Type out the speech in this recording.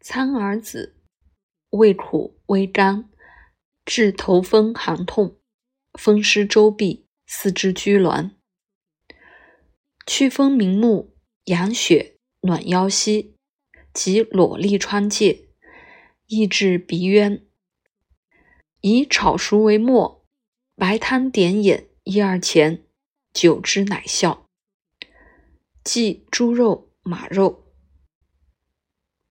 苍耳子，味苦微甘，治头风寒痛，风湿周痹，四肢拘挛。祛风明目，养血，暖腰膝及裸痢疮疥，益治鼻渊。以炒熟为末，白汤点眼1-2钱，久之乃效。忌猪肉、马肉。